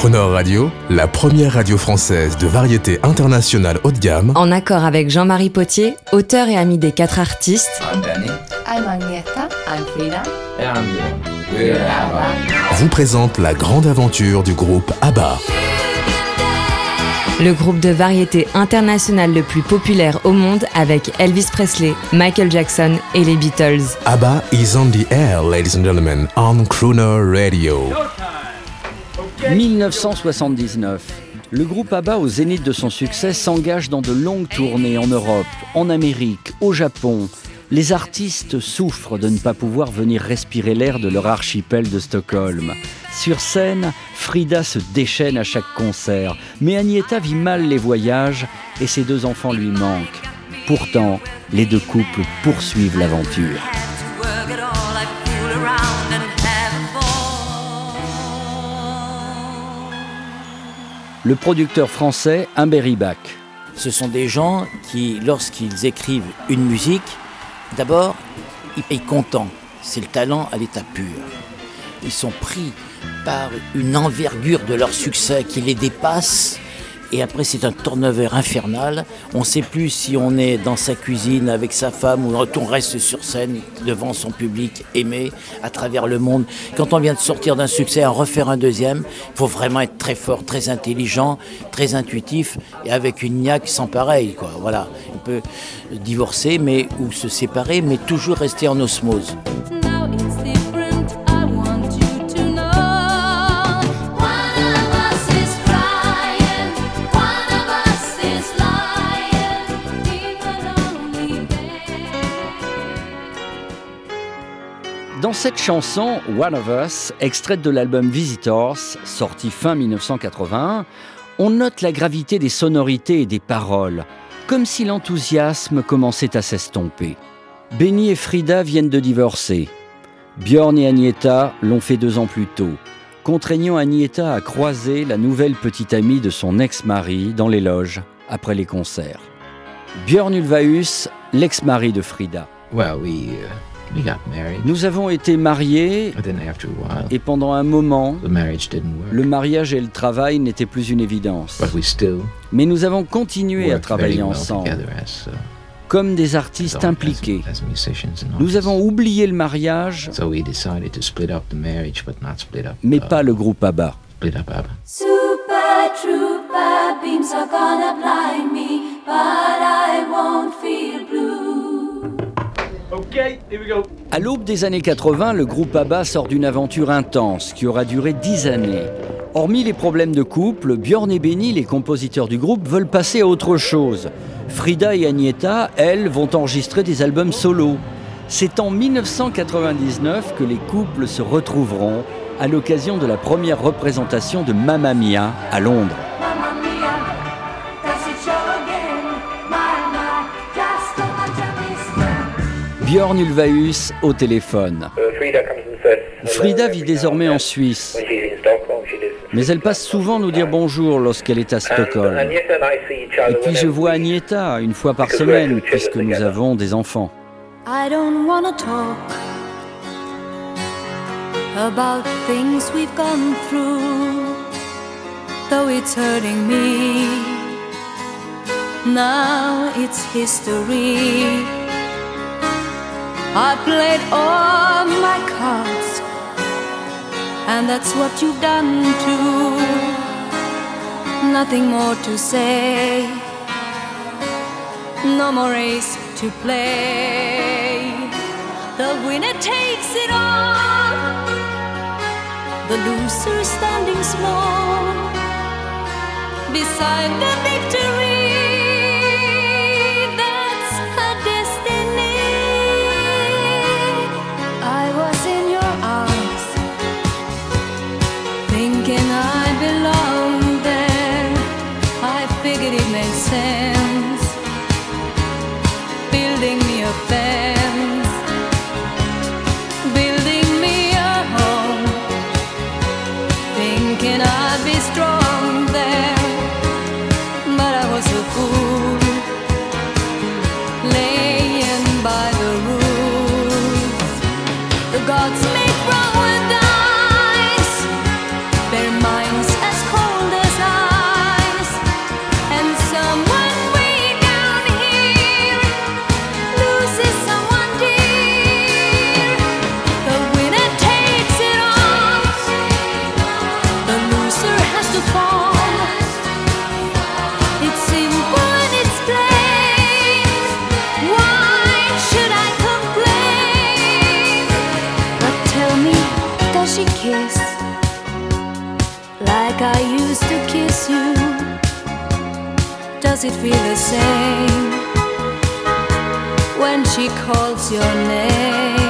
Crooner Radio, la première radio française de variété internationale haut de gamme, en accord avec Jean-Marie Potier, auteur et ami des 4 artistes. I'm Danny. I'm Agneta. I'm Frida. And I'm Bjorn. We're ABBA. vous présente la grande aventure du groupe ABBA. Le groupe de variété internationale le plus populaire au monde avec Elvis Presley, Michael Jackson et les Beatles. ABBA is on the air, ladies and gentlemen, on Crooner Radio. 1979. Le groupe ABBA, au zénith de son succès, s'engage dans de longues tournées en Europe, en Amérique, au Japon. Les artistes souffrent de ne pas pouvoir venir respirer l'air de leur archipel de Stockholm. Sur scène, Frida se déchaîne à chaque concert, mais Agneta vit mal les voyages et ses 2 enfants lui manquent. Pourtant, les 2 couples poursuivent l'aventure. Le producteur français Humbert Rybak. Ce sont des gens qui, lorsqu'ils écrivent une musique, d'abord, ils payent comptant. C'est le talent à l'état pur. Ils sont pris par une envergure de leur succès qui les dépasse. Et après, c'est un turnover infernal. On ne sait plus si on est dans sa cuisine avec sa femme ou on reste sur scène devant son public aimé à travers le monde. Quand on vient de sortir d'un succès, en refaire un deuxième, il faut vraiment être très fort, très intelligent, très intuitif et avec une niaque sans pareil, quoi. Voilà. On peut divorcer ou se séparer, mais toujours rester en osmose. Dans cette chanson, One of Us, extraite de l'album Visitors, sorti fin 1981, on note la gravité des sonorités et des paroles, comme si l'enthousiasme commençait à s'estomper. Benny et Frida viennent de divorcer. Bjorn et Agneta l'ont fait 2 ans plus tôt, contraignant Agneta à croiser la nouvelle petite amie de son ex-mari dans les loges, après les concerts. Bjorn Ulvaeus, l'ex-mari de Frida. Well, we got married. Nous avons été mariés But then after a while, et pendant un moment, the marriage didn't work. le mariage et le travail n'étaient plus une évidence. But we still Mais nous avons continué à worked travailler very well ensemble, together as, comme des artistes impliqués. as musicians and Nous artists. avons oublié le mariage, So we decided to split up the marriage, but not split up. mais pas le groupe ABBA. Split up ABBA. Super trooper beams are gonna blind me, but I won't feel blue. À l'aube des années 80, le groupe ABBA sort d'une aventure intense qui aura duré 10 années. Hormis les problèmes de couple, Bjorn et Benny, les compositeurs du groupe, veulent passer à autre chose. Frida et Agneta, elles, vont enregistrer des albums solo. C'est en 1999 que les couples se retrouveront à l'occasion de la première représentation de Mamma Mia à Londres. Mamma mia, does it show again? My, just so much of this. Bjorn Ulvaeus au téléphone. Frida vit désormais en Suisse, mais elle passe souvent nous dire bonjour lorsqu'elle est à Stockholm. Et puis je vois Agneta 1 fois par semaine, puisque nous avons des enfants. I don't wanna talk about things we've gone through, though it's hurting me. Now it's history. I played all my cards, and that's what you've done too. Nothing more to say, no more race to play. The winner takes it all, the loser standing small beside the victory. That's her destiny. I was in your arms, thinking I belonged there. I figured it made sense, building me a fence, building me a home, thinking I'd be strong there. But I was she kiss like I used to kiss you? Does it feel the same when she calls your name?